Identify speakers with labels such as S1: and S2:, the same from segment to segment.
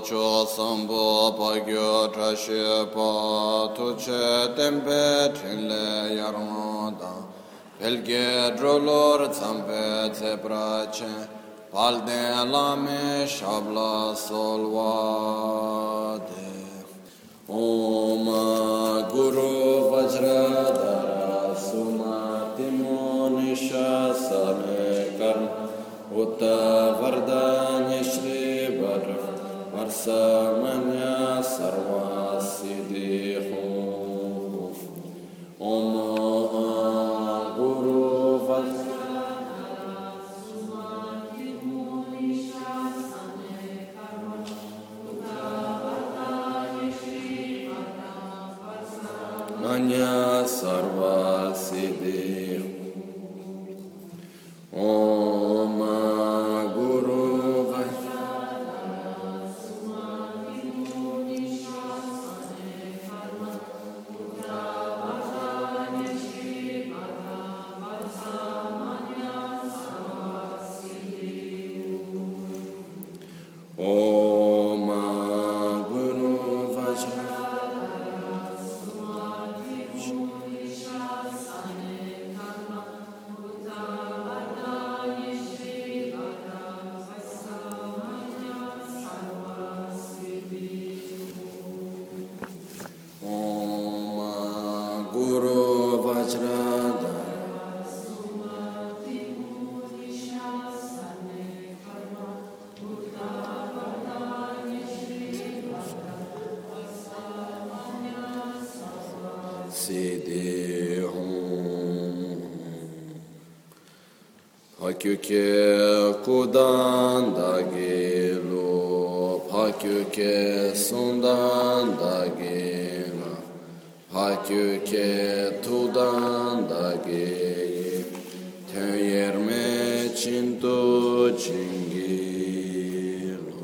S1: cho sambo pagyo trashe pa tuche tempe trinle yarmada belge drolor zampe zebrace palde lame shabla solvade Om Guru Vajradhara Sumati Monisha Same Karma Uta Vardhanya Shri Vara Varsamanya Sarva Siddhi Om Guru Vajradhara Sumati Monisha Same Karma Uta Vardhanya Shri Manya Sarva Siddhi Om Guru Vajradhara Sumati Monisha Same Karma Uta Vardhanya Shri Varsamanya Sarva Siddhi Om Guru Vajradhara Siddhi Pakyuke Kudandagilo Pakyuke Sundandagila Pakyuke Tudandagi Tenyerme Chintu Chingilo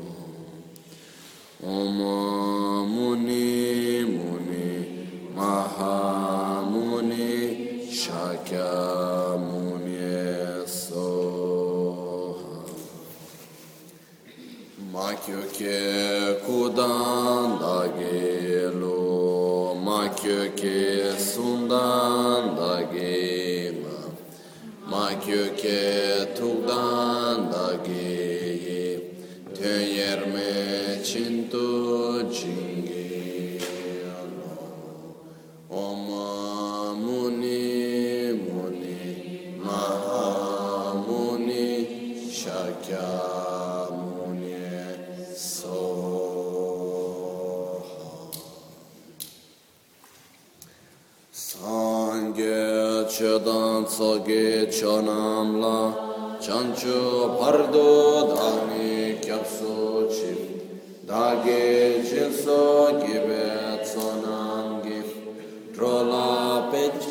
S1: Om Muni Muni Mahamuni Shakyamuni Soha Makyuke Kudandagilo Makyuke Sundandagima Makyuke Tugdandagi Tenyerme Chintu Chingi Om Muni Muni Mahamuni Shakyamuni Soha Sangye Chedan Tsoge Chonamla Chanchu Pardo Dani Kyapsu Chip Dage Jinso Gibe Tsonangi Trola Pech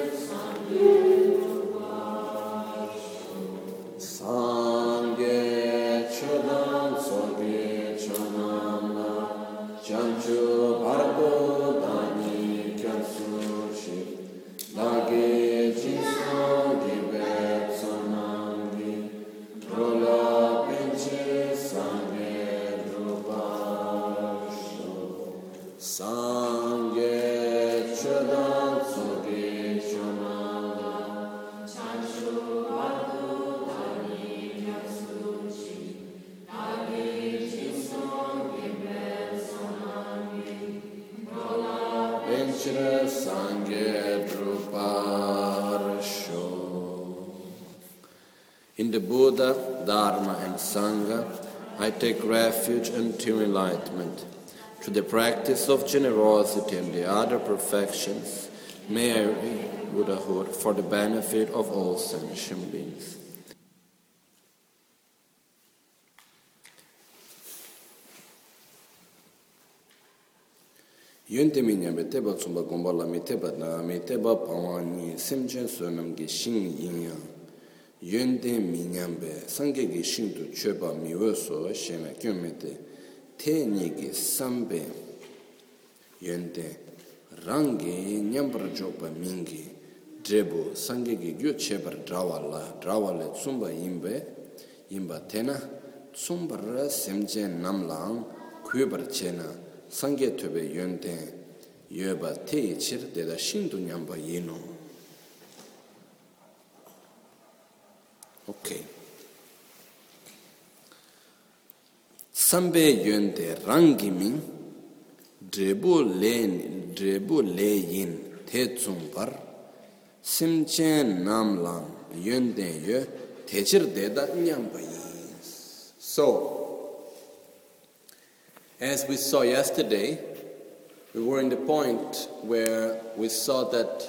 S1: Sangye Chodan Soge Chonamla Chanchu Pardo Dani Kyapsu Chip Dage Jinso Gibe Tsonangi Trola Pech Sangye Drupasho Sangye Chodan Soge Chonamla Chanchu Pardo Dani Kyapsu Chip Dage Jinso Gibe Tsonangi Trola Pech Sangye Druparsho. In the Buddha, Dharma and Sangha, I take refuge until enlightenment. Through the practice of generosity and the other perfections, may I reach Buddhahood for the benefit of all sentient beings. Yunte minyambe teba tsumba gombala mi teba na mi teba pawani semchen sonam ge shing yinyang. Yunte minyambe sange ge shing tu chöba miwe so shena kyumete te nige sambe. Yunte rangi nyambra jopa mingi drebu sange ge gyo chebar drawale tsumba imbe tena tsumbara semchen namlang kubar chena sangye tobe yonten yoba te chir deda shindu nyamba yeno. Okay. Sambe yonte rangi min drebu le yin te tsumbar simchen namlang yonte yo techir deda nyamba yin. So, as we saw yesterday, we were in the point where we saw that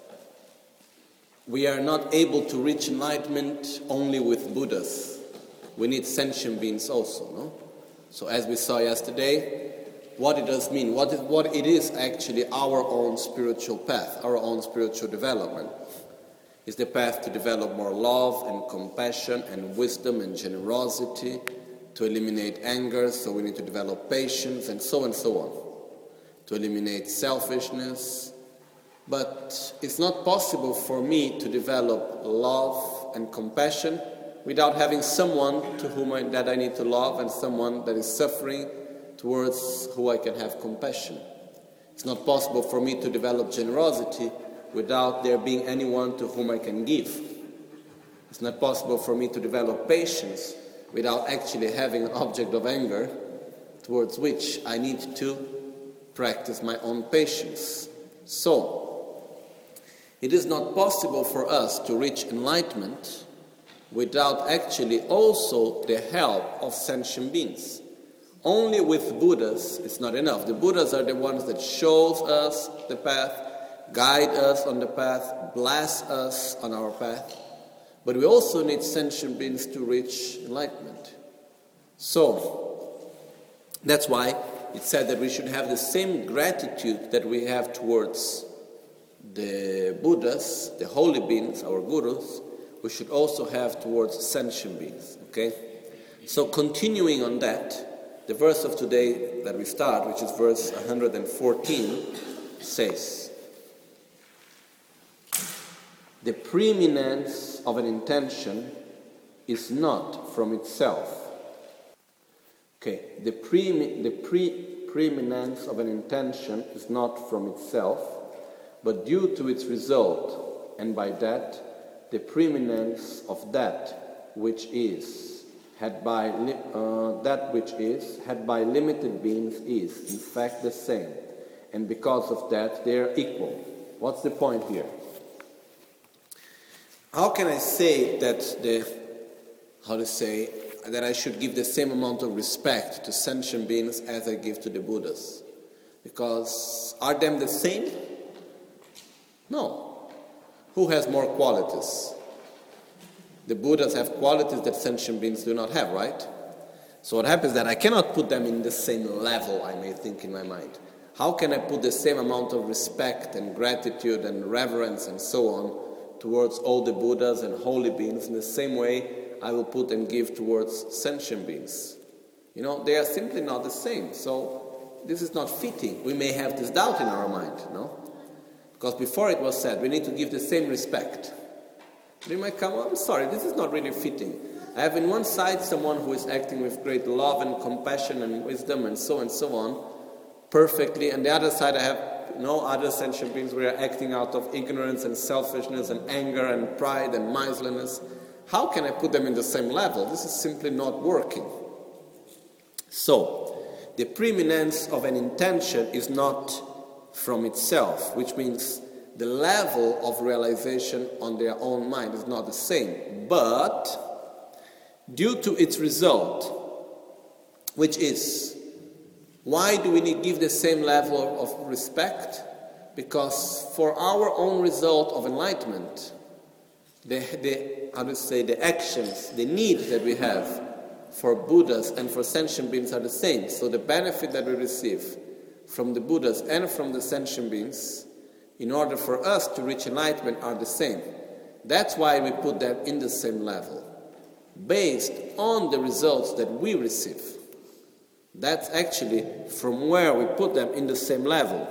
S1: we are not able to reach enlightenment only with Buddhas. We need sentient beings also, no? So as we saw yesterday, what it does mean, what it is actually our own spiritual path, our own spiritual development, is the path to develop more love and compassion and wisdom and generosity, to eliminate anger, so we need to develop patience and so on, to eliminate selfishness. But it's not possible for me to develop love and compassion without having someone to whom that I need to love and someone that is suffering towards who I can have compassion. It's not possible for me to develop generosity without there being anyone to whom I can give. It's not possible for me to develop patience without actually having an object of anger towards which I need to practice my own patience. So, it is not possible for us to reach enlightenment without actually also the help of sentient beings. Only with Buddhas it's not enough. The Buddhas are the ones that shows us the path, guide us on the path, bless us on our path. But we also need sentient beings to reach enlightenment. So, that's why it said that we should have the same gratitude that we have towards the Buddhas, the holy beings, our gurus, we should also have towards sentient beings, okay? So continuing on that, the verse of today that we start, which is verse 114, says, the preeminence of an intention is not from itself. Okay, the preeminence of an intention is not from itself, but due to its result, and by that, the preeminence of that which is, had by limited beings is, in fact, the same, and because of that, they are equal. What's the point here? How can I say that that I should give the same amount of respect to sentient beings as I give to the Buddhas? Because are them the same? No. Who has more qualities? The Buddhas have qualities that sentient beings do not have, right? So what happens is that I cannot put them in the same level, I may think in my mind. How can I put the same amount of respect and gratitude and reverence and so on towards all the Buddhas and holy beings in the same way I will put and give towards sentient beings? You know, they are simply not the same. So this is not fitting. We may have this doubt in our mind, no? Because before it was said, we need to give the same respect. They might come, I'm sorry, this is not really fitting. I have on one side someone who is acting with great love and compassion and wisdom and so on, perfectly, and the other side I have other sentient beings who are acting out of ignorance and selfishness and anger and pride and miserliness. How can I put them in the same level? This is simply not working. So, the preeminence of an intention is not from itself, which means the level of realization on their own mind is not the same, but due to its result, which is, why do we need to give the same level of respect? Because for our own result of enlightenment, the actions, the need that we have for Buddhas and for sentient beings are the same. So the benefit that we receive from the Buddhas and from the sentient beings, in order for us to reach enlightenment, are the same. That's why we put them in the same level, based on the results that we receive. That's actually from where we put them in the same level.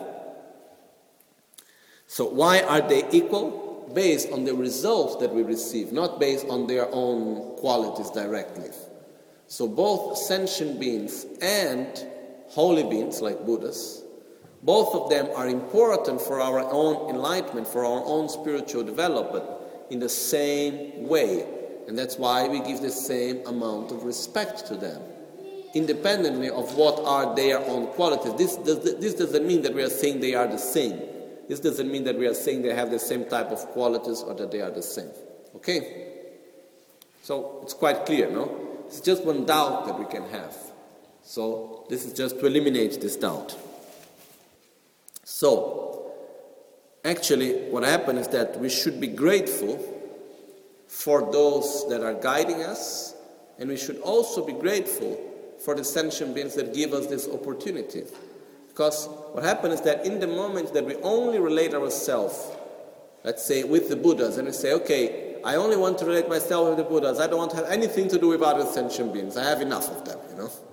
S1: So why are they equal? Based on the results that we receive, not based on their own qualities directly. So both sentient beings and holy beings like Buddhas. Both of them are important for our own enlightenment, for our own spiritual development in the same way. And that's why we give the same amount of respect to them, independently of what are their own qualities. This doesn't mean that we are saying they are the same. This doesn't mean that we are saying they have the same type of qualities or that they are the same. Okay? So it's quite clear, no? It's just one doubt that we can have. So this is just to eliminate this doubt. So, actually, what happened is that we should be grateful for those that are guiding us, and we should also be grateful for the sentient beings that give us this opportunity. Because what happened is that in the moment that we only relate ourselves, let's say with the Buddhas, and we say, okay, I only want to relate myself with the Buddhas, I don't want to have anything to do with other sentient beings, I have enough of them,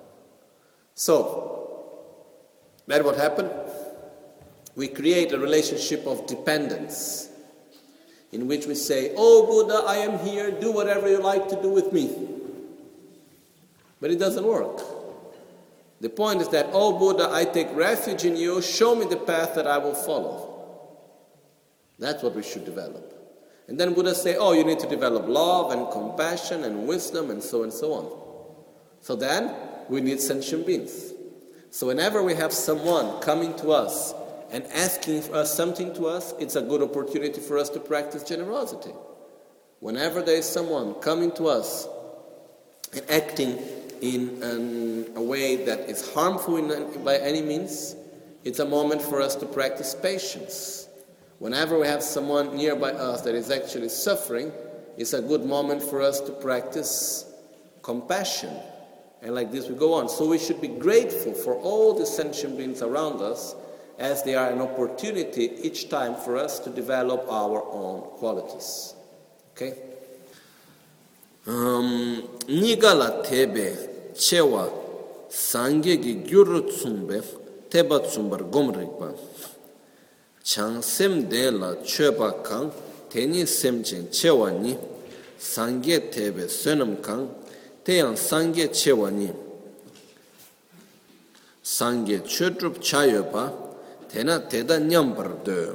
S1: So, that's what happened. We create a relationship of dependence in which we say, oh Buddha, I am here, do whatever you like to do with me. But it doesn't work. The point is that, oh Buddha, I take refuge in you, show me the path that I will follow. That's what we should develop. And then Buddha say, oh, you need to develop love and compassion and wisdom and so on. So then we need sentient beings. So whenever we have someone coming to us and asking for us something to us, it's a good opportunity for us to practice generosity. Whenever there is someone coming to us and acting in a way that is harmful by any means, it's a moment for us to practice patience. Whenever we have someone nearby us that is actually suffering, it's a good moment for us to practice compassion. And like this we go on. So we should be grateful for all the sentient beings around us, as they are an opportunity each time for us to develop our own qualities. Okay?
S2: Nigala tebe chewa sangye gi gyuru tsumbe teba tsumbar gomrikpa chang sem de la cheba kang teni semchen chewa ni sangye tebe senam kang teyang sangye chewa ni sangye chötrup chayoba tena teda nyambar de.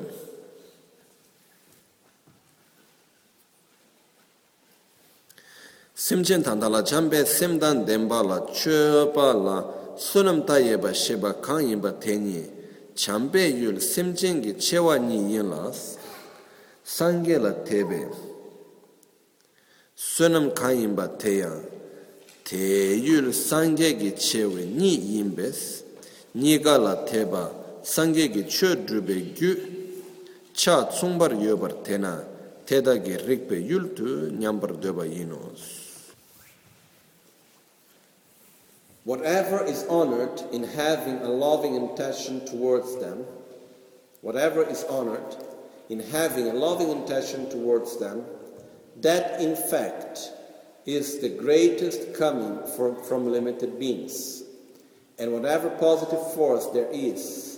S2: Simchen tandala chambe simdan demba la chöpa la sunam tayeba sheba kanyimba teni chambe yul simchen gi chewa ni yinlas sangye la tebe sunam kanyimba teya te yul sangye gi chewe ni yimbes niga la teba 상계기 최드베 규 차 총bar yobar tena tedagi rikpe yultu nyambar deba yinos.
S1: Whatever is honored in having a loving intention towards them, whatever is honored in having a loving intention towards them, that in fact is the greatest coming from limited beings. And whatever positive force there is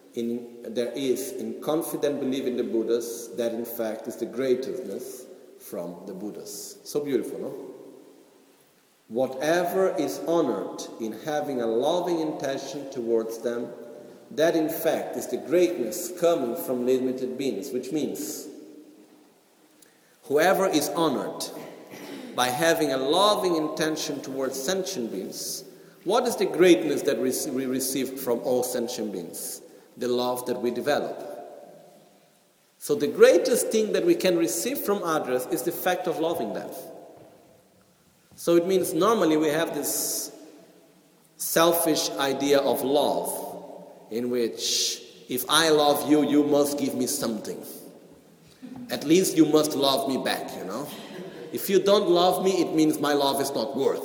S1: in confident belief in the Buddhas, that in fact is the greatness from the Buddhas. So beautiful, no? Whatever is honored in having a loving intention towards them, that in fact is the greatness coming from limited beings, which means whoever is honored by having a loving intention towards sentient beings, what is the greatness that we receive from all sentient beings? The love that we develop. So the greatest thing that we can receive from others is the fact of loving them. So it means normally we have this selfish idea of love, in which if I love you, you must give me something. At least you must love me back, If you don't love me, it means my love is not worth.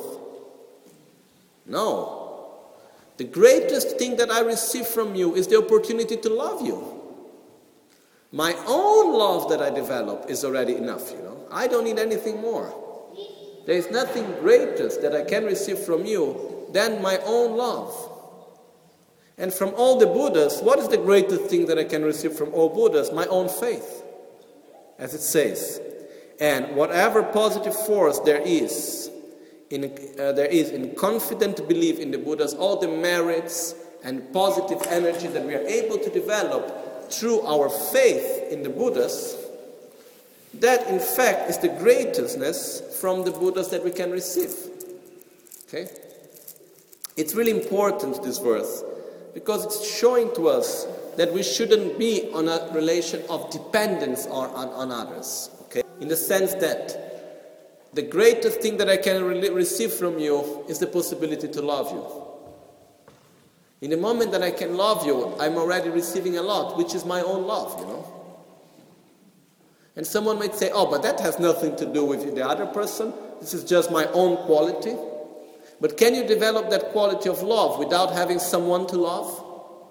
S1: No. The greatest thing that I receive from you is the opportunity to love you. My own love that I develop is already enough, I don't need anything more. There is nothing greatest that I can receive from you than my own love. And from all the Buddhas, what is the greatest thing that I can receive from all Buddhas? My own faith, as it says. And whatever positive force there is in confident belief in the Buddhas, all the merits
S2: and positive energy that we are able to develop through our faith in the Buddhas, that in fact is the greatness from the Buddhas that we can receive. Okay? It's really important, this verse, because it's showing to us that we shouldn't be on a relation of dependence on others. Okay? In the sense that the greatest thing that I can receive from you is the possibility to love you. In the moment that I can love you, I'm already receiving a lot, which is my own love, And someone might say, but that has nothing to do with the other person. This is just my own quality. But can you develop that quality of love without having someone to love?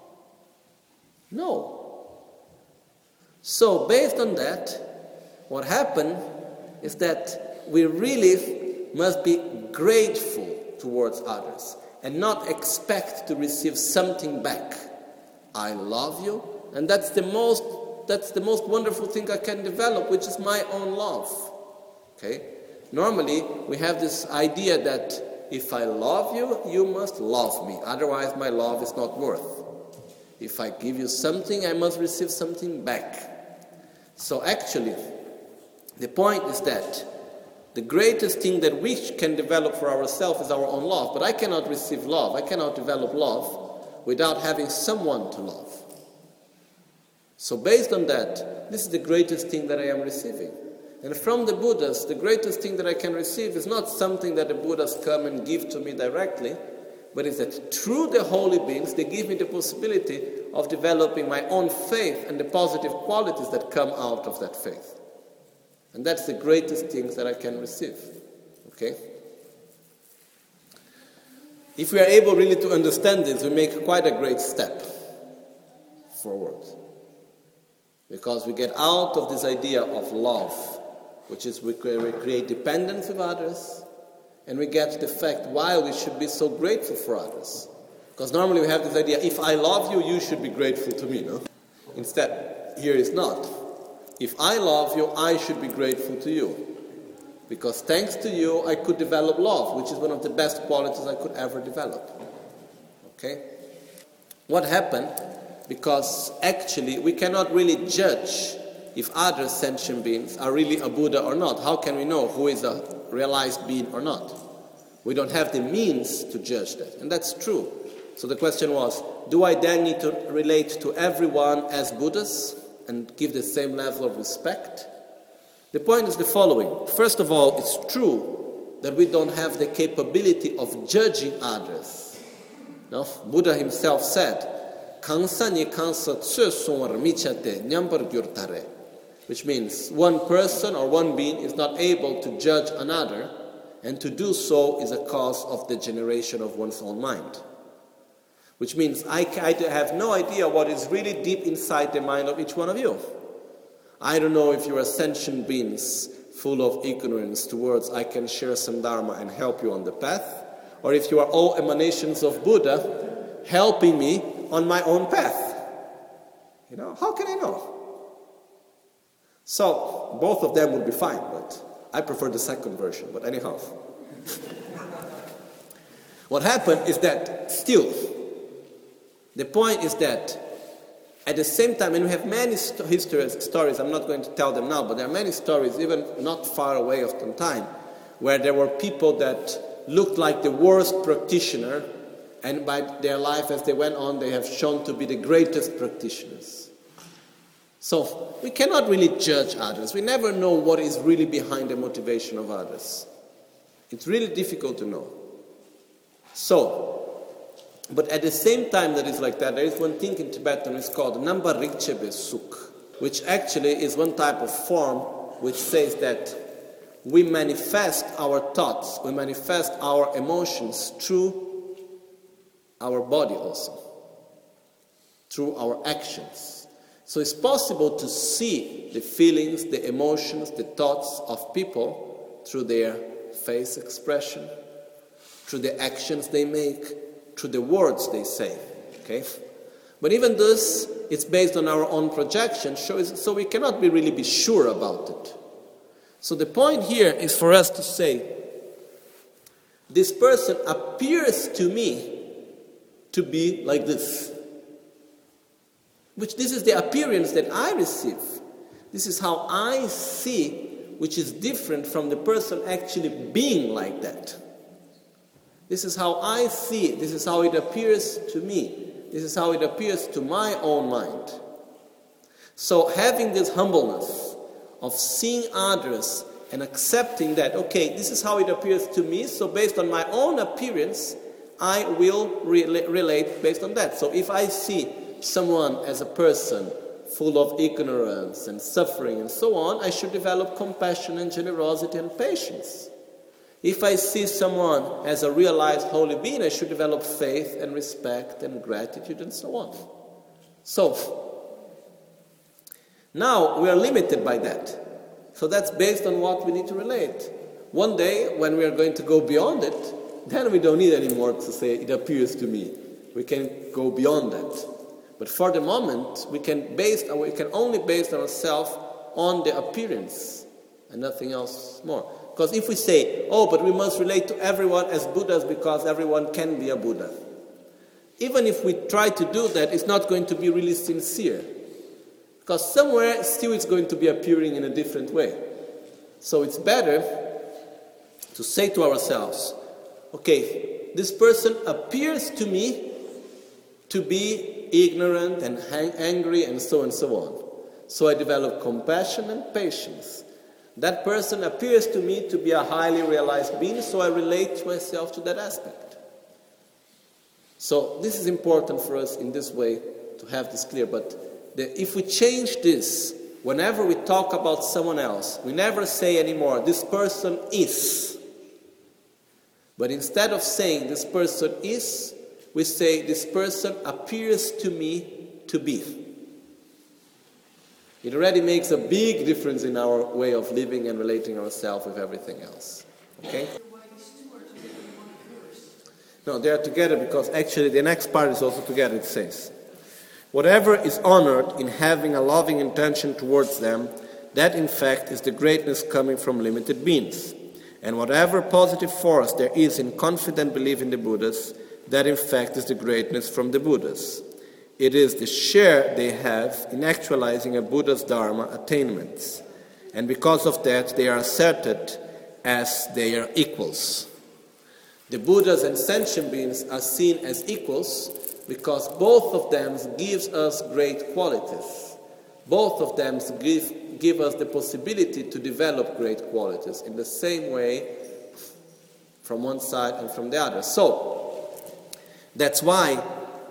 S2: No. So, based on that, what happened is that we really must be grateful towards others and not expect to receive something back. I love you, and that's the most wonderful thing I can develop, which is my own love. Okay? Normally, we have this idea that if I love you, you must love me. Otherwise, my love is not worth. If I give you something, I must receive something back. So actually, the point is that the greatest thing that we can develop for ourselves is our own love. But I cannot receive love, I cannot develop love without having someone to love. So based on that, this is the greatest thing that I am receiving. And from the Buddhas, the greatest thing that I can receive is not something that the Buddhas come and give to me directly, but is that through the holy beings, they give me the possibility of developing my own faith and the positive qualities that come out of that faith. And that's the greatest thing that I can receive. Okay? If we are able really to understand this, we make quite a great step forward. Because we get out of this idea of love, which is we create dependence with others, and we get the fact why we should be so grateful for others. Because normally we have this idea, if I love you, you should be grateful to me, no? Instead, here is not. If I love you, I should be grateful to you. Because thanks to you, I could develop love, which is one of the best qualities I could ever develop. Okay? What happened? Because actually, we cannot really judge if other sentient beings are really a Buddha or not. How can we know who is a realized being or not? We don't have the means to judge that. And that's true. So the question was, do I then need to relate to everyone as Buddhas and give the same level of respect? The point is the following. First of all, it's true that we don't have the capability of judging others. No? Buddha himself said, which means one person or one being is not able to judge another, and to do so is a cause of degeneration of one's own mind. Which means I have no idea what is really deep inside the mind of each one of you. I don't know if you are sentient beings full of ignorance towards I can share some Dharma and help you on the path, or if you are all emanations of Buddha helping me on my own path. How can I know? So, both of them would be fine, but I prefer the second version. But anyhow. What happened is that still, the point is that at the same time, and we have many stories, I'm not going to tell them now, but there are many stories, even not far away of time, where there were people that looked like the worst practitioner, and by their life as they went on, they have shown to be the greatest practitioners. So, we cannot really judge others. We never know what is really behind the motivation of others. It's really difficult to know. So, but at the same time that is like that, there is one thing in Tibetan, it's called Namba Rikchebe Suk, which actually is one type of form which says that we manifest our thoughts, we manifest our emotions through our body also, through our actions. So it's possible to see the feelings, the emotions, the thoughts of people through their face expression, through the actions they make, through the words they say. Okay? But even this, it's based on our own projection, so we cannot really be sure about it. So the point here is for us to say, this person appears to me to be like this. Which this is the appearance that I receive. This is how I see, which is different from the person actually being like that. This is how I see it. This is how it appears to me. This is how it appears to my own mind. So having this humbleness of seeing others and accepting that, okay, this is how it appears to me, so based on my own appearance, I will relate based on that. So if I see someone as a person full of ignorance and suffering and so on, I should develop compassion and generosity and patience. If I see someone as a realized holy being, I should develop faith and respect and gratitude and so on. So, now we are limited by that. So that's based on what we need to relate. One day, when we are going to go beyond it, then we don't need anymore to say, it appears to me. We can go beyond that. But for the moment, we can only base ourselves on the appearance and nothing else more. Because if we say, oh, but we must relate to everyone as Buddhas because everyone can be a Buddha. Even if we try to do that, it's not going to be really sincere. Because somewhere still it's going to be appearing in a different way. So it's better to say to ourselves, okay, this person appears to me to be ignorant and angry and so on. So I develop compassion and patience. That person appears to me to be a highly realized being, so I relate myself to that aspect. So this is important for us in this way to have this clear. But if we change this, whenever we talk about someone else, we never say anymore, this person is. But instead of saying this person is, we say this person appears to me to be. It already makes a big difference in our way of living and relating ourselves with everything else. Okay? No, they are together because actually the next part is also together, it says. Whatever is honored in having a loving intention towards them, that in fact is the greatness coming from limited beings. And whatever positive force there is in confident belief in the Buddhas, that in fact is the greatness from the Buddhas. It is the share they have in actualizing a Buddha's Dharma attainments. And because of that, they are asserted as they are equals. The Buddhas and sentient beings are seen as equals because both of them gives us great qualities. Both of them give us the possibility to develop great qualities in the same way from one side and from the other. So, that's why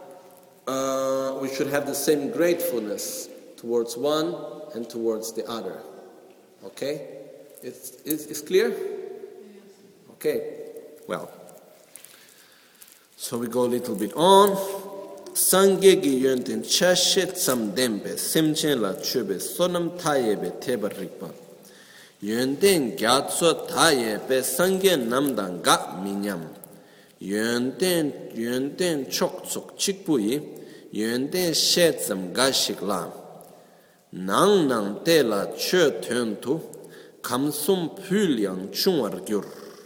S2: we should have the same gratefulness towards one and towards the other. Okay? It's clear? Okay. Well. So we go a little bit on. Sangye gi yönten chashe tsam dembe semchen la chöbe sonam tayebe teba rikpa. Yönten gyatso tayebe sangye namdan ga minyam. Yönten chok chok chikpuyi. Yönten she tsam ga shikla. Nang te la chö tön tu kamsum pylyang chungwar gyur.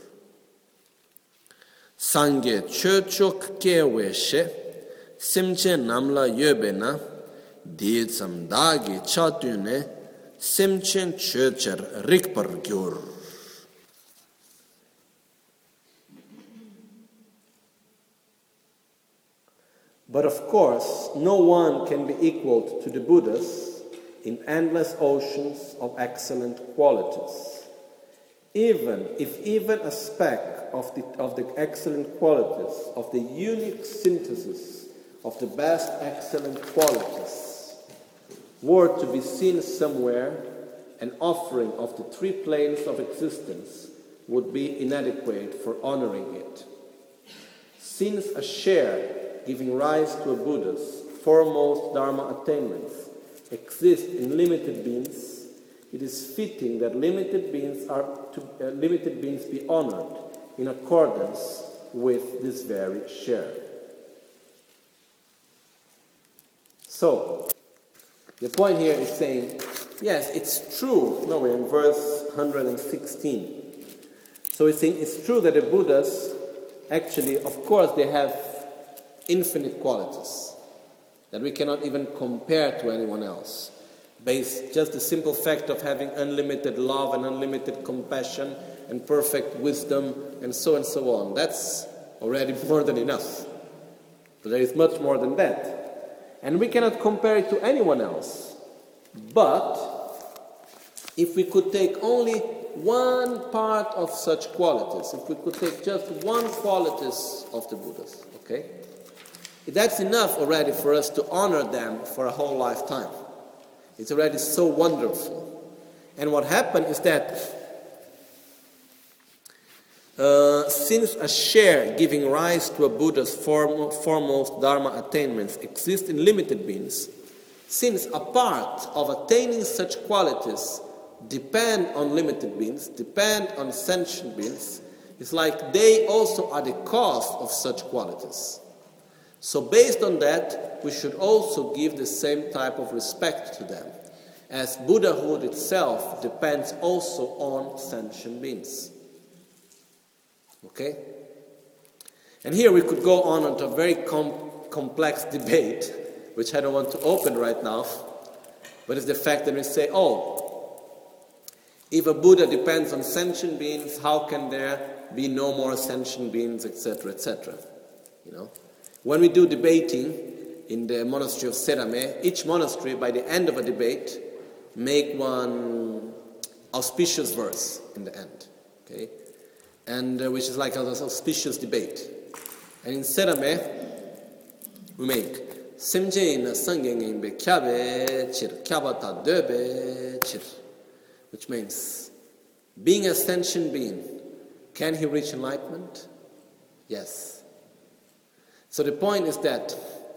S2: Sangye chö chok kewe she semche namla yobe na di tsam dagi chatune semchen chö char rikpar gyur. But of course, no one can be equal to the Buddhas in endless oceans of excellent qualities. Even a speck of the excellent qualities, of the unique synthesis of the best excellent qualities, were to be seen somewhere, an offering of the three planes of existence would be inadequate for honoring it. Since a share giving rise to a Buddha's foremost Dharma attainments exists in limited beings, it is fitting that limited beings be honored in accordance with this very share. So, the point here is saying, yes, it's true. No, we're in verse 116. So it's saying it's true that the Buddhas, actually, of course, they have infinite qualities that we cannot even compare to anyone else, based just the simple fact of having unlimited love and unlimited compassion and perfect wisdom and so on. That's already more than enough. But there is much more than that. And we cannot compare it to anyone else. But if we could take only one part of such qualities, if we could take just one qualities of the Buddhas, okay? That's enough already for us to honor them for a whole lifetime. It's already so wonderful. And what happened is that since a share giving rise to a Buddha's foremost Dharma attainments exists in limited beings, since a part of attaining such qualities depend on limited beings, depend on sentient beings, it's like they also are the cause of such qualities. So based on that, we should also give the same type of respect to them, as Buddhahood itself depends also on sentient beings. Okay? And here we could go on into a very complex debate, which I don't want to open right now, but it's the fact that we say, if a Buddha depends on sentient beings, how can there be no more sentient beings, etc., etc.? You know? When we do debating in the monastery of Serame, each monastery, by the end of a debate, make one auspicious verse in the end, okay? And which is like an auspicious debate. And in Serame, we make Semje na sangeng imbe kyabe chir kyabata döbe chir, which means being a sentient being, can he reach enlightenment? Yes. So the point is that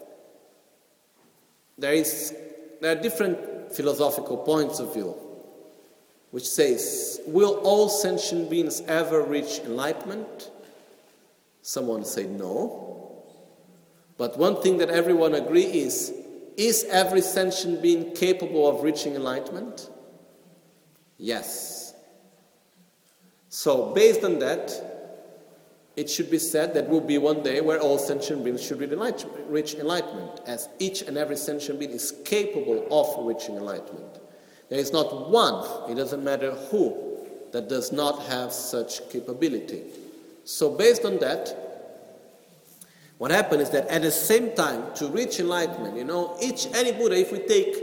S2: there are different philosophical points of view which says, will all sentient beings ever reach enlightenment? Someone say no. But one thing that everyone agrees is every sentient being capable of reaching enlightenment? Yes. So based on that, it should be said that will be one day where all sentient beings should reach enlightenment, as each and every sentient being is capable of reaching enlightenment. There is not one, it doesn't matter who, that does not have such capability. So based on that, what happened is that at the same time, to reach enlightenment, any Buddha, if we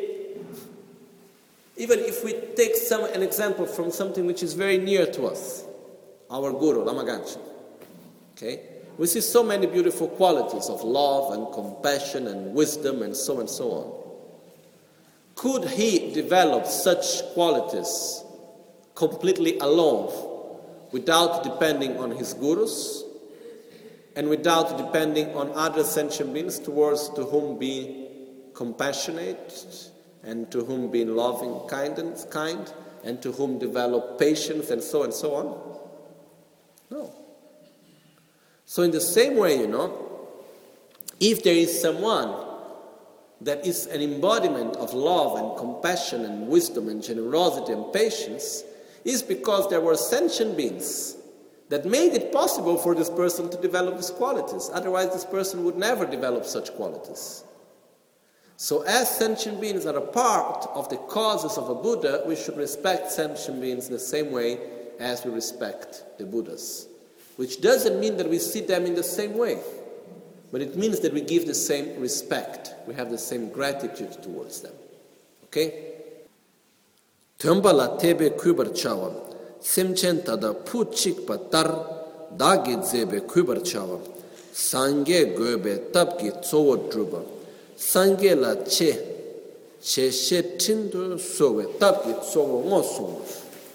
S2: take an example from something which is very near to us, our Guru, Lama Ganchen, okay? We see so many beautiful qualities of love and compassion and wisdom and so on. Could he develop such qualities completely alone, without depending on his gurus, and without depending on other sentient beings to whom be compassionate, and to whom be loving, kind, and to whom develop patience and so on? No. So in the same way, if there is someone that is an embodiment of love and compassion and wisdom and generosity and patience, is because there were sentient beings that made it possible for this person to develop these qualities. Otherwise, this person would never develop such qualities. So as sentient beings are a part of the causes of a Buddha, we should respect sentient beings in the same way as we respect the Buddhas. Which doesn't mean that we see them in the same way, but it means that we give the same respect. We have the same gratitude towards them. Okay? Tembala tebe kubar chawa, semchen tada puchik patar, dagi zebe kubar chawa, sange gobe tabki tsowo druba, sange la che she tindu sowe tabki tsowo ngosung.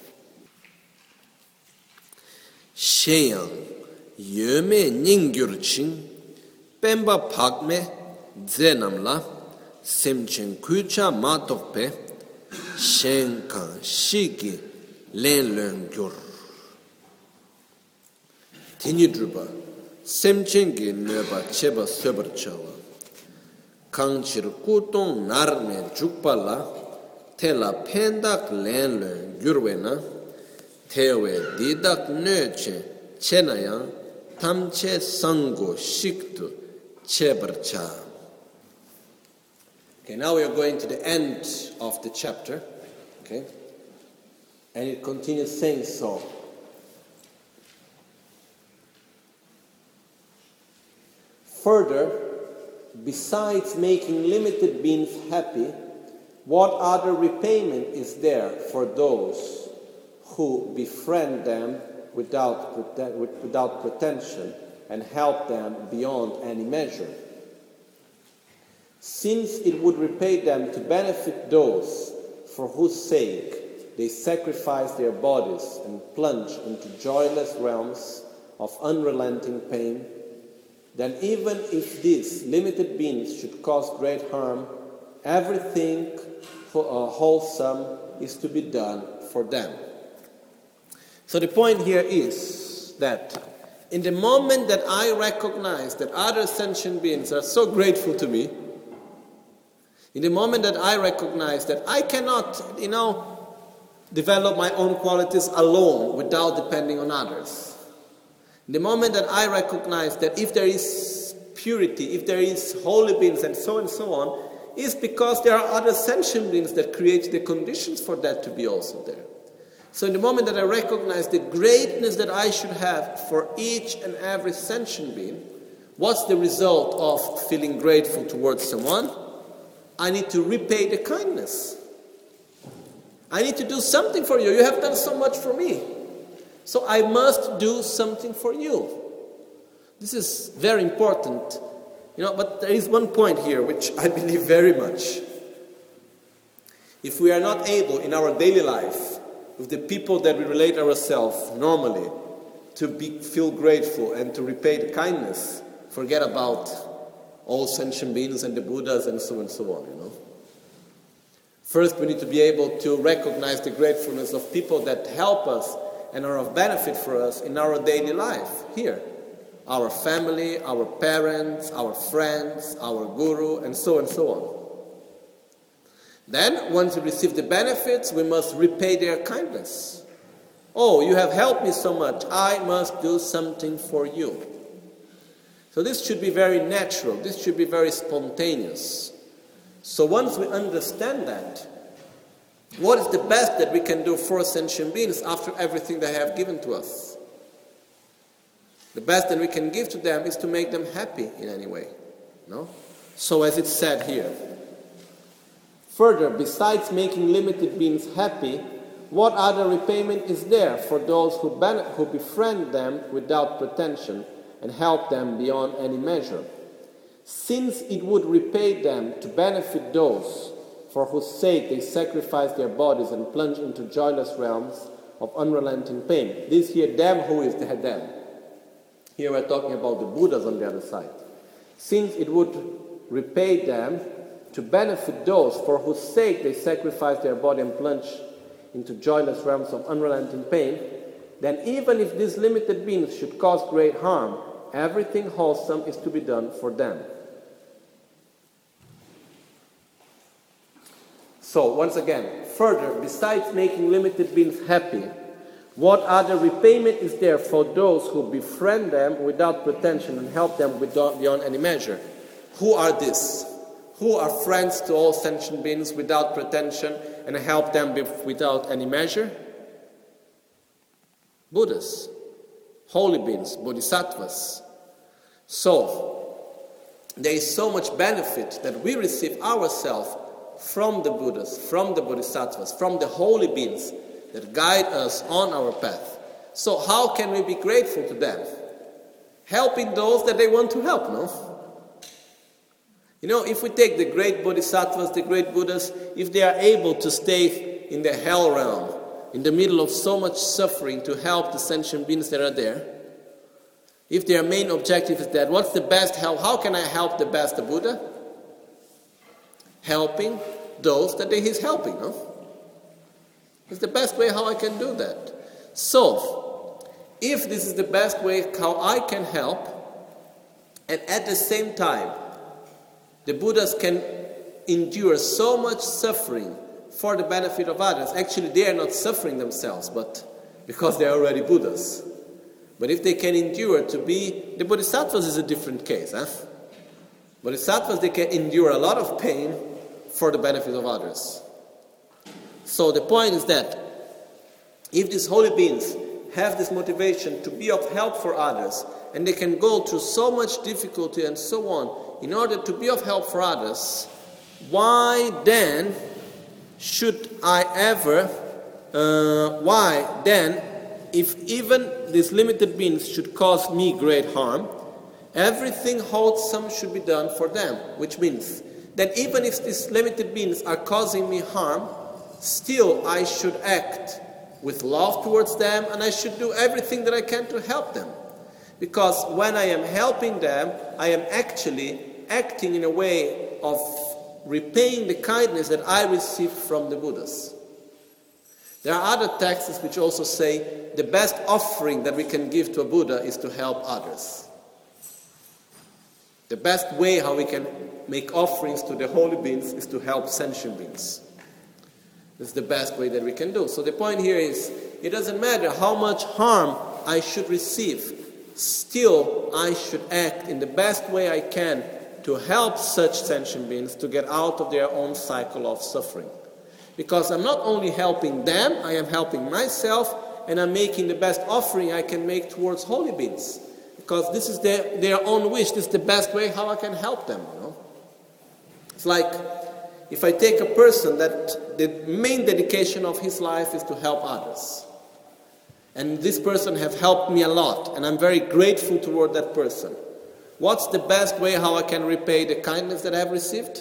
S2: Sheyang yöme ningyurching pemba pakme zenamla semchen kucha matokpe shenkan shiki lenlöngyur tinidruba semchengi nöba cheba söberchawa kangchir kutong narme jukpala tela pendak lenlöngyurwena tewe didak nöche chenayang tamche sango shiktu chebarcha. Okay, now we are going to the end of the chapter. Okay? And it continues saying so. Further, besides making limited beings happy, what other repayment is there for those who befriend them without pretension and help them beyond any measure? Since it would repay them to benefit those for whose sake they sacrifice their bodies and plunge into joyless realms of unrelenting pain, then even if these limited beings should cause great harm, everything wholesome is to be done for them. So the point here is that in the moment that I recognize that other sentient beings are so grateful to me, in the moment that I recognize that I cannot, develop my own qualities alone without depending on others, the moment that I recognize that if there is purity, if there is holy beings and so on, is because there are other sentient beings that create the conditions for that to be also there. So in the moment that I recognize the greatness that I should have for each and every sentient being, what's the result of feeling grateful towards someone? I need to repay the kindness. I need to do something for you. You have done so much for me. So I must do something for you. This is very important. But there is one point here which I believe very much. If we are not able in our daily life, with the people that we relate ourselves normally, to feel grateful and to repay the kindness, forget about all sentient beings and the Buddhas and so on, First, we need to be able to recognize the gratefulness of people that help us and are of benefit for us in our daily life here. Our family, our parents, our friends, our guru, and so on. Then, once we receive the benefits, we must repay their kindness. Oh, you have helped me so much, I must do something for you. So this should be very natural, this should be very spontaneous. So once we understand that, what is the best that we can do for sentient beings after everything they have given to us? The best that we can give to them is to make them happy in any way. No? So as it's said here, further, besides making limited beings happy, what other repayment is there for those who befriend them without pretension and help them beyond any measure? Since it would repay them to benefit those for whose sake they sacrifice their bodies and plunge into joyless realms of unrelenting pain. This here, them, who is the them? Here we're talking about the Buddhas on the other side. Since it would repay them to benefit those for whose sake they sacrifice their body and plunge into joyless realms of unrelenting pain, then even if these limited beings should cause great harm, everything wholesome is to be done for them. So, once again, further, besides making limited beings happy, what other repayment is there for those who befriend them without pretension and help them beyond any measure? Who are these? Who are friends to all sentient beings without pretension and help them without any measure? Buddhas, holy beings, bodhisattvas. So, there is so much benefit that we receive ourselves from the Buddhas, from the bodhisattvas, from the holy beings that guide us on our path. So how can we be grateful to them? Helping those that they want to help, no? If we take the great bodhisattvas, the great Buddhas, if they are able to stay in the hell realm, in the middle of so much suffering to help the sentient beings that are there, if their main objective is that, what's the best help? How can I help the best, the Buddha? Helping those that he's helping, no? It's the best way how I can do that. So, if this is the best way how I can help, and at the same time, the Buddhas can endure so much suffering for the benefit of others. Actually, they are not suffering themselves, but because they are already Buddhas. But if they can endure to be, the Bodhisattvas is a different case. Bodhisattvas, they can endure a lot of pain for the benefit of others. So the point is that if these holy beings have this motivation to be of help for others, and they can go through so much difficulty and so on in order to be of help for others, why then should I ever, if even these limited beings should cause me great harm, everything wholesome should be done for them, which means that even if these limited beings are causing me harm, still I should act with love towards them, and I should do everything that I can to help them. Because when I am helping them, I am actually acting in a way of repaying the kindness that I received from the Buddhas. There are other texts which also say the best offering that we can give to a Buddha is to help others. The best way how we can make offerings to the holy beings is to help sentient beings. This is the best way that we can do. So the point here is, it doesn't matter how much harm I should receive, still I should act in the best way I can to help such sentient beings to get out of their own cycle of suffering. Because I'm not only helping them, I am helping myself, and I'm making the best offering I can make towards holy beings. Because this is their own wish, this is the best way how I can help them. It's like, if I take a person that the main dedication of his life is to help others, and this person has helped me a lot, and I'm very grateful toward that person, what's the best way how I can repay the kindness that I have received?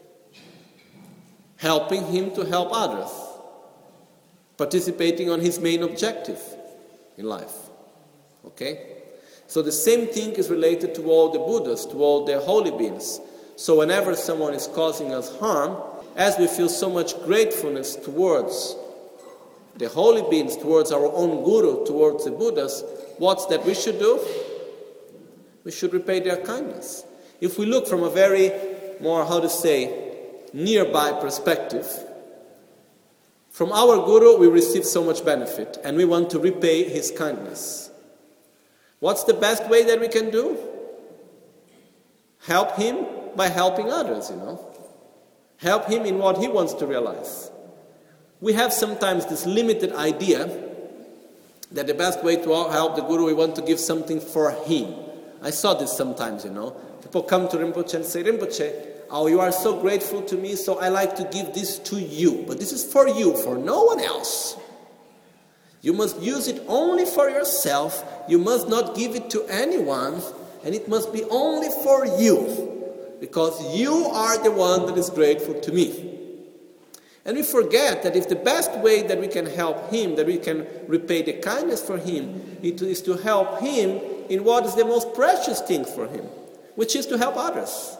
S2: Helping him to help others, participating on his main objective in life. Okay? So the same thing is related to all the Buddhas, to all the holy beings. So whenever someone is causing us harm, as we feel so much gratefulness towards the holy beings, towards our own Guru, towards the Buddhas, what's that we should do? We should repay their kindness. If we look from a very more, nearby perspective, from our Guru we receive so much benefit, and we want to repay his kindness. What's the best way that we can do? Help him by helping others, Help him in what he wants to realize. We have sometimes this limited idea that the best way to help the Guru, we want to give something for him. I saw this sometimes, People come to Rinpoche and say, Rinpoche, oh, you are so grateful to me, so I like to give this to you. But this is for you, for no one else. You must use it only for yourself. You must not give it to anyone. And it must be only for you. Because you are the one that is grateful to me. And we forget that if the best way that we can help him, that we can repay the kindness for him, it is to help him in what is the most precious thing for him, which is to help others.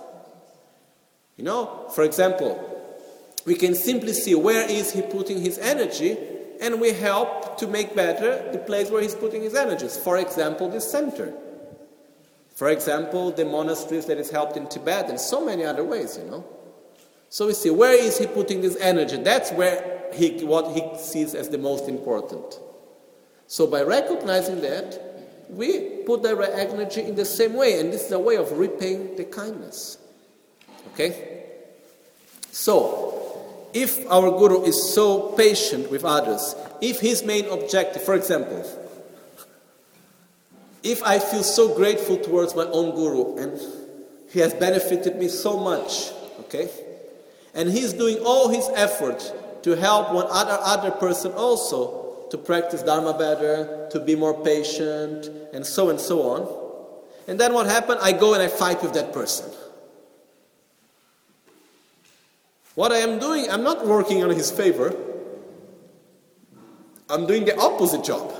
S2: For example, we can simply see where is he putting his energy, and we help to make better the place where he's putting his energies. For example, this center. For example, the monasteries that is helped in Tibet, and so many other ways, So we see, where is he putting this energy? That's where what he sees as the most important. So by recognizing that, we put the energy in the same way, and this is a way of repaying the kindness. Okay? So, if our Guru is so patient with others, if his main objective, for example, if I feel so grateful towards my own Guru, and he has benefited me so much, okay? And he's doing all his effort to help one other person also to practice Dharma better, to be more patient, and so on. And then what happened? I go and I fight with that person. What I am doing, I'm not working on his favor. I'm doing the opposite job.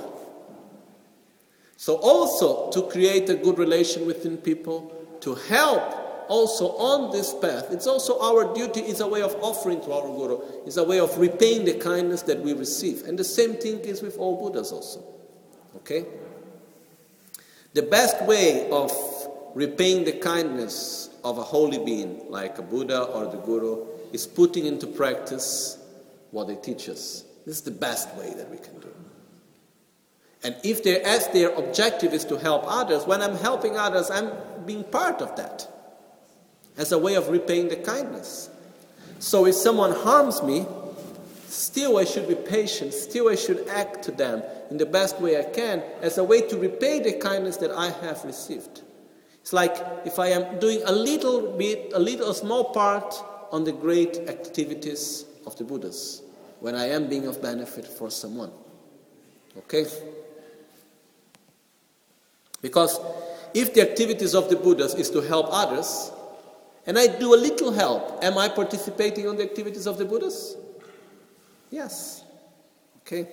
S2: So also to create a good relation within people, to help also on this path, it's also our duty, it's a way of offering to our Guru, it's a way of repaying the kindness that we receive. And the same thing is with all Buddhas also. Okay? The best way of repaying the kindness of a holy being, like a Buddha or the Guru, is putting into practice what they teach us. This is the best way that we can do. And if their objective is to help others, when I'm helping others, I'm being part of that. as a way of repaying the kindness. So if someone harms me, still I should be patient, still I should act to them in the best way I can as a way to repay the kindness that I have received. It's like if I am doing a small part on the great activities of the Buddhas, when I am being of benefit for someone. Okay? Because if the activities of the Buddhas is to help others, and I do a little help, am I participating on the activities of the Buddhas? Yes. Okay?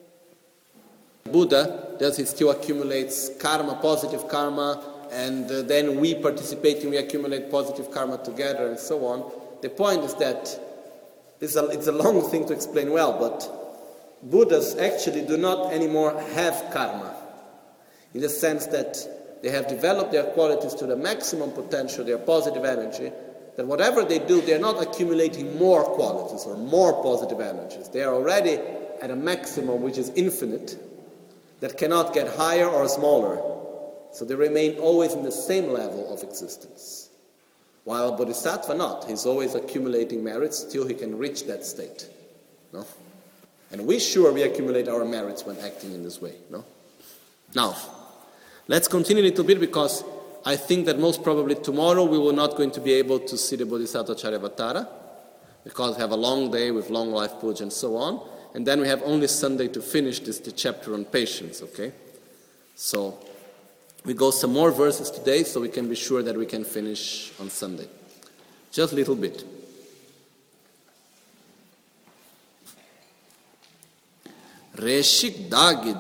S2: Buddha, he still accumulates karma, positive karma, and then we participate and we accumulate positive karma together and so on. The point is that it's a long thing to explain well, but Buddhas actually do not anymore have karma, in the sense that they have developed their qualities to the maximum potential, their positive energy, that whatever they do, they are not accumulating more qualities or more positive energies. They are already at a maximum which is infinite, that cannot get higher or smaller. So they remain always in the same level of existence. While a bodhisattva not. He's always accumulating merits till he can reach that state. No? And we accumulate our merits when acting in this way. No? Now, let's continue a little bit, because I think that most probably tomorrow we will not going to be able to see the Bodhisattva Charyavatara, because we have a long day with long life puja and so on, and then we have only Sunday to finish the chapter on patience, okay? So we go some more verses today so we can be sure that we can finish on Sunday. Just a little bit. Reshik dagi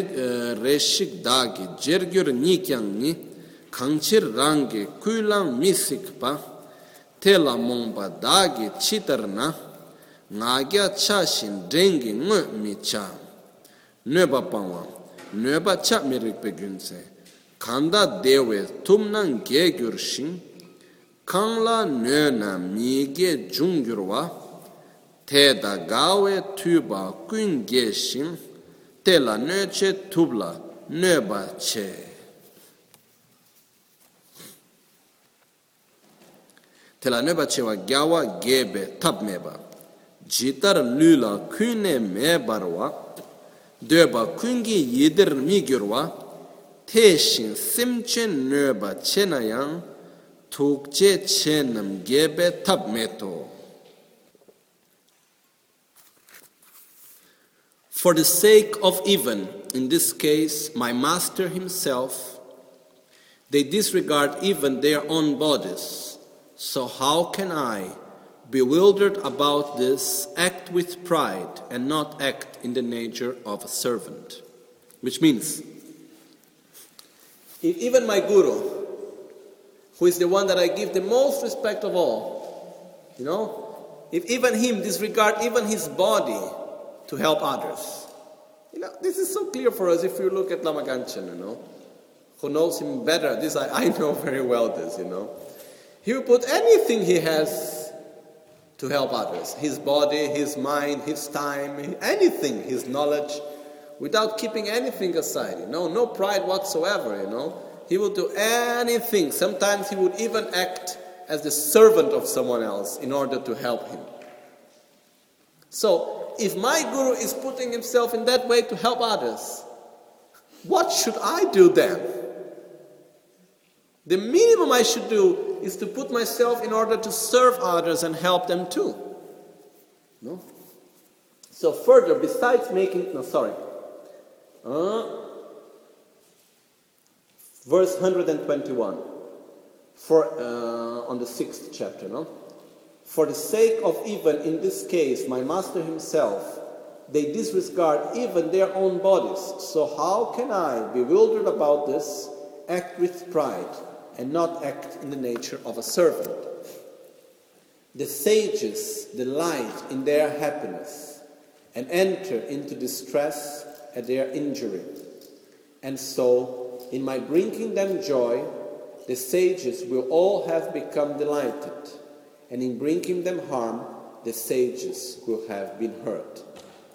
S2: jergyur nikyang ni kangchir rangi kuilang misikpa tela mongpa dagi chitarna ngagya chashin drengi ngu micha nöba pangwa nöba cha mirikpe gyunse kanda dewe tumnang gegyur shin kangla nöna mige jungyurwa Teda gawe tuba kun geshin tela nöche tubla nöba che. Tela nöba che wa gyawa gebe tab meba. Jitar lula kune mebarwa. Döba kungi yidir migurwa. Teshin simche nöba chenayang. Tukche chenam gebe tab meto. For the sake of even, in this case, my master himself, they disregard even their own bodies. So how can I, bewildered about this, act with pride and not act in the nature of a servant? Which means, if even my guru, who is the one that I give the most respect of all, if even him disregard even his body to help others. This is so clear for us if you look at Lama Ganchen, who knows him better. This I know very well this, He will put anything he has to help others. His body, his mind, his time, anything, his knowledge, without keeping anything aside, no pride whatsoever, He will do anything. Sometimes he would even act as the servant of someone else in order to help him. So, if my guru is putting himself in that way to help others, what should I do then? The minimum I should do is to put myself in order to serve others and help them too. No? So further, besides verse 121, on the 6th chapter, For the sake of even in this case, my master himself, they disregard even their own bodies. So how can I, bewildered about this, act with pride and not act in the nature of a servant? The sages delight in their happiness and enter into distress at their injury. And so, in my bringing them joy, the sages will all have become delighted. And in bringing them harm, the sages will have been hurt.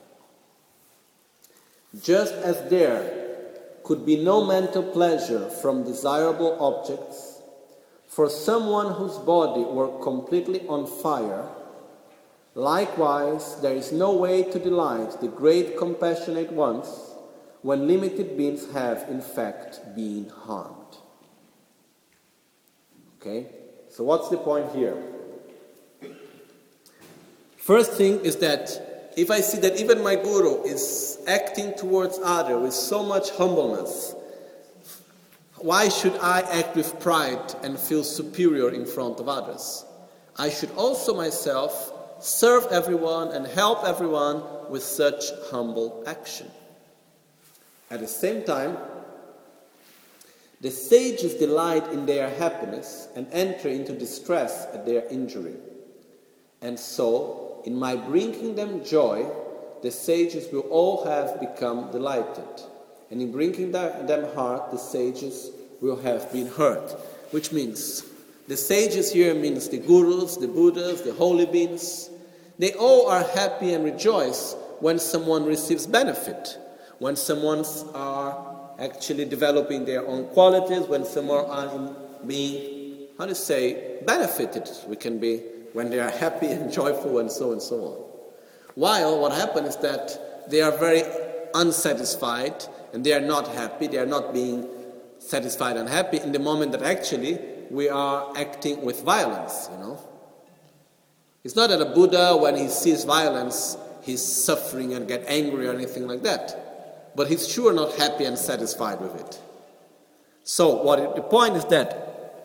S2: Just as there could be no mental pleasure from desirable objects, for someone whose body were completely on fire, likewise there is no way to delight the great compassionate ones when limited beings have in fact been harmed. Okay? So what's the point here? First thing is that if I see that even my guru is acting towards others with so much humbleness, why should I act with pride and feel superior in front of others? I should also myself serve everyone and help everyone with such humble action. At the same time, the sages delight in their happiness and enter into distress at their injury. And so, in my bringing them joy, the sages will all have become delighted. And in bringing them hurt, the sages will have been hurt. Which means, the sages here means the gurus, the Buddhas, the holy beings. They all are happy and rejoice when someone receives benefit. When someone's are actually developing their own qualities, when someone are being, benefited. We can be when they are happy and joyful and so on. While what happens is that they are very unsatisfied and they are not happy, they are not being satisfied and happy in the moment that actually we are acting with violence, It's not that a Buddha, when he sees violence, he's suffering and get angry or anything like that. But he's sure not happy and satisfied with it. So the point is that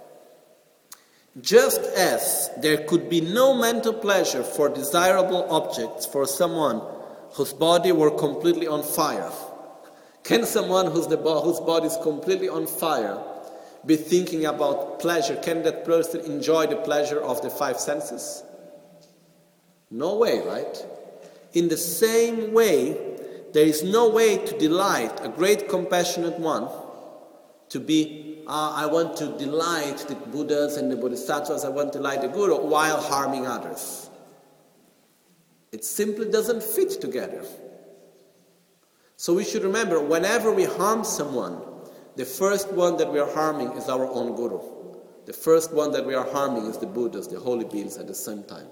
S2: just as there could be no mental pleasure for desirable objects for someone whose body were completely on fire, can someone whose body is completely on fire be thinking about pleasure? Can that person enjoy the pleasure of the five senses? No way, right? In the same way, there is no way to delight a great compassionate one to be, I want to delight the Buddhas and the Bodhisattvas, I want to delight the Guru while harming others. It simply doesn't fit together. So we should remember, whenever we harm someone, the first one that we are harming is our own Guru. The first one that we are harming is the Buddhas, the holy beings at the same time.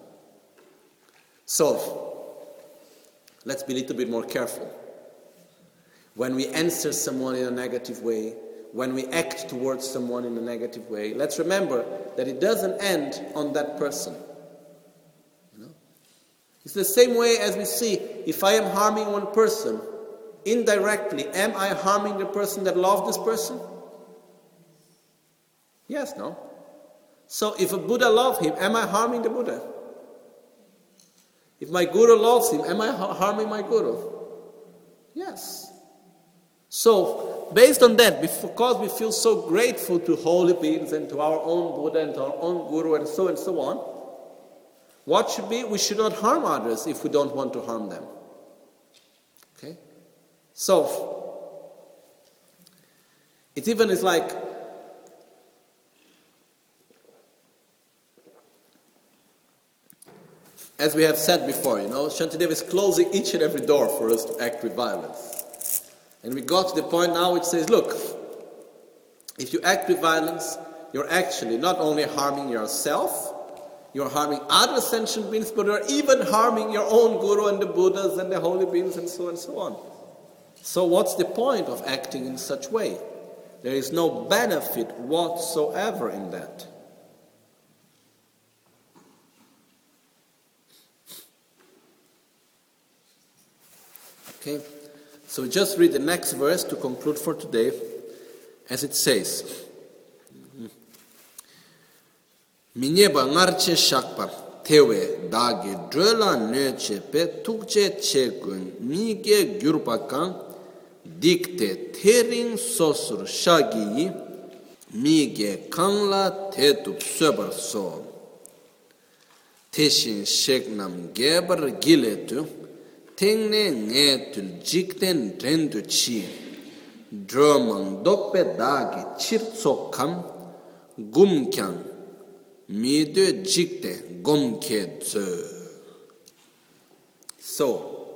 S2: So, let's be a little bit more careful. When we answer someone in a negative way, when we act towards someone in a negative way, let's remember that it doesn't end on that person. It's the same way as we see, if I am harming one person, indirectly, am I harming the person that loves this person? Yes, no? So if a Buddha loves him, am I harming the Buddha? If my Guru loves him, am I harming my Guru? Yes. So, based on that, because we feel so grateful to holy beings and to our own Buddha and to our own Guru and so on, what should be? We should not harm others if we don't want to harm them. Okay? So, it even is like, as we have said before, Shantideva is closing each and every door for us to act with violence. And we got to the point now which says, look, if you act with violence, you're actually not only harming yourself, you're harming other sentient beings, but you're even harming your own Guru and the Buddhas and the holy beings and so on. So what's the point of acting in such way? There is no benefit whatsoever in that. Okay, so just read the next verse to conclude for today, as it says, Minyeba ngarche shakpa tewe dagi drola neche pe tukche chegun mige gyurpakan dikte tering sosur shagi mige kangla tetup söbar so teshin sheknam gebar giletu tengne ngetul jikten rendu chi dromang dokpe dagi chirtsokam gumkyang midu jikte gomke tsu. So,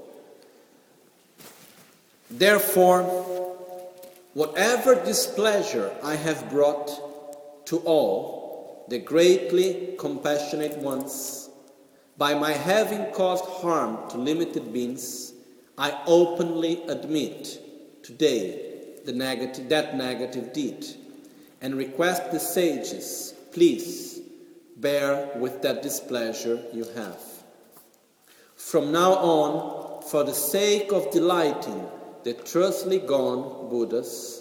S2: therefore, whatever displeasure I have brought to all, the greatly compassionate ones, by my having caused harm to limited beings, I openly admit today that negative deed, and request the sages, please bear with that displeasure you have. From now on, for the sake of delighting the thusly gone Buddhas,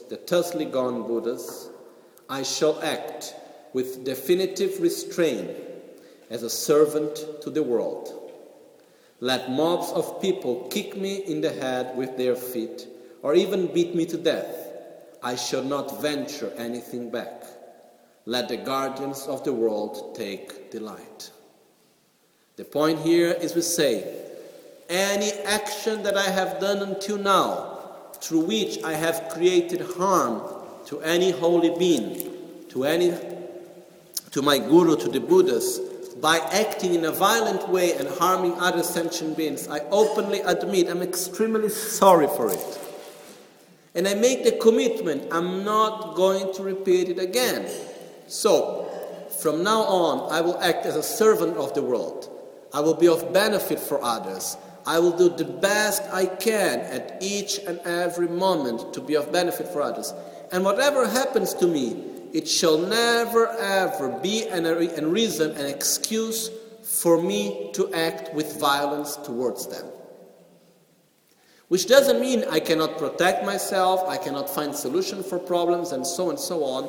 S2: I shall act with definitive restraint as a servant to the world. Let mobs of people kick me in the head with their feet, or even beat me to death. I shall not venture anything back. Let the guardians of the world take delight. The point here is we say, any action that I have done until now, through which I have created harm to any holy being, to my guru, to the Buddhas, by acting in a violent way and harming other sentient beings, I openly admit I'm extremely sorry for it. And I make the commitment, I'm not going to repeat it again. So, from now on, I will act as a servant of the world. I will be of benefit for others. I will do the best I can at each and every moment to be of benefit for others. And whatever happens to me, it shall never ever be a reason, an excuse for me to act with violence towards them. Which doesn't mean I cannot protect myself, I cannot find solution for problems and so on.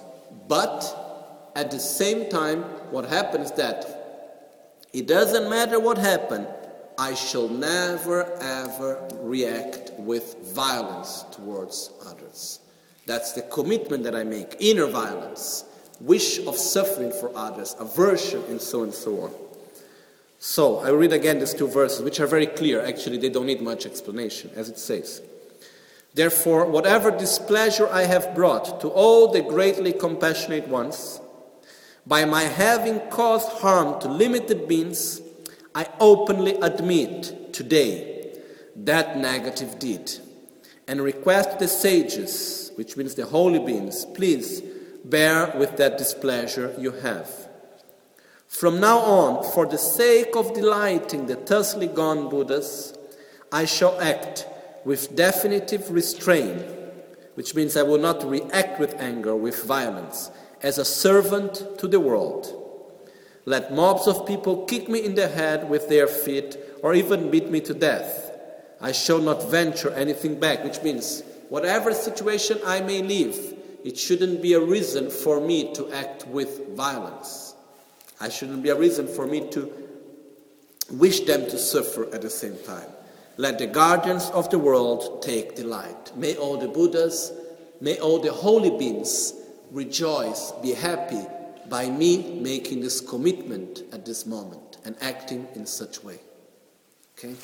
S2: But at the same time, what happens is that it doesn't matter what happened, I shall never ever react with violence towards others. That's the commitment that I make. Inner violence, wish of suffering for others, aversion, and so on. So, I read again these two verses, which are very clear. Actually, they don't need much explanation, as it says. Therefore, whatever displeasure I have brought to all the greatly compassionate ones, by my having caused harm to limited beings, I openly admit today that negative deed, and request the sages, which means the holy beings, please bear with that displeasure you have. From now on, for the sake of delighting the thusly gone Buddhas, I shall act with definitive restraint, which means I will not react with anger, with violence, as a servant to the world. Let mobs of people kick me in the head with their feet, or even beat me to death. I shall not venture anything back, which means whatever situation I may live, it shouldn't be a reason for me to act with violence. I shouldn't be a reason for me to wish them to suffer at the same time. Let the guardians of the world take delight. May all the Buddhas, may all the holy beings rejoice, be happy by me making this commitment at this moment and acting in such way. Okay?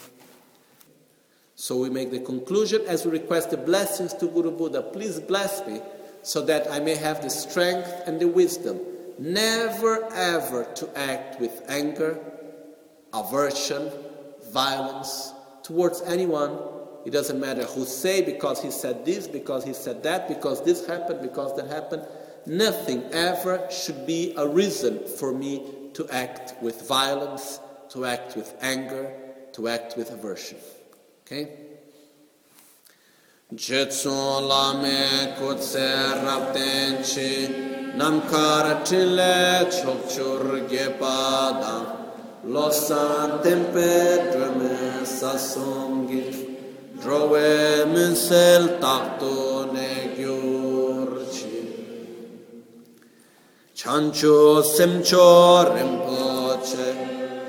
S2: So we make the conclusion as we request the blessings to Guru Buddha. Please bless me so that I may have the strength and the wisdom never ever to act with anger, aversion, violence towards anyone. It doesn't matter who say, because he said this, because he said that, because this happened, because that happened. Nothing ever should be a reason for me to act with violence, to act with anger, to act with aversion. Okay? Jetson lame kutse raptenchi namkar chile chokchur gepada losan tempe drame sasongi drove minsel takto ne gyurchi chancho semcho rimpoche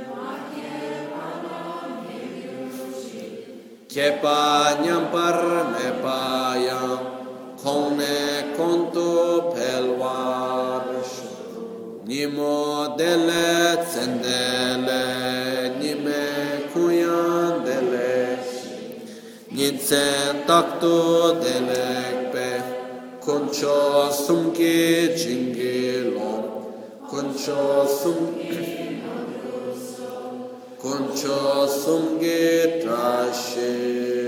S2: Kepa nyampar nepaya kone konto pelwarish nimo dele tsendele nime kuyan dele nitsen takto delekpe koncho sumki jingilon koncho sumge trashe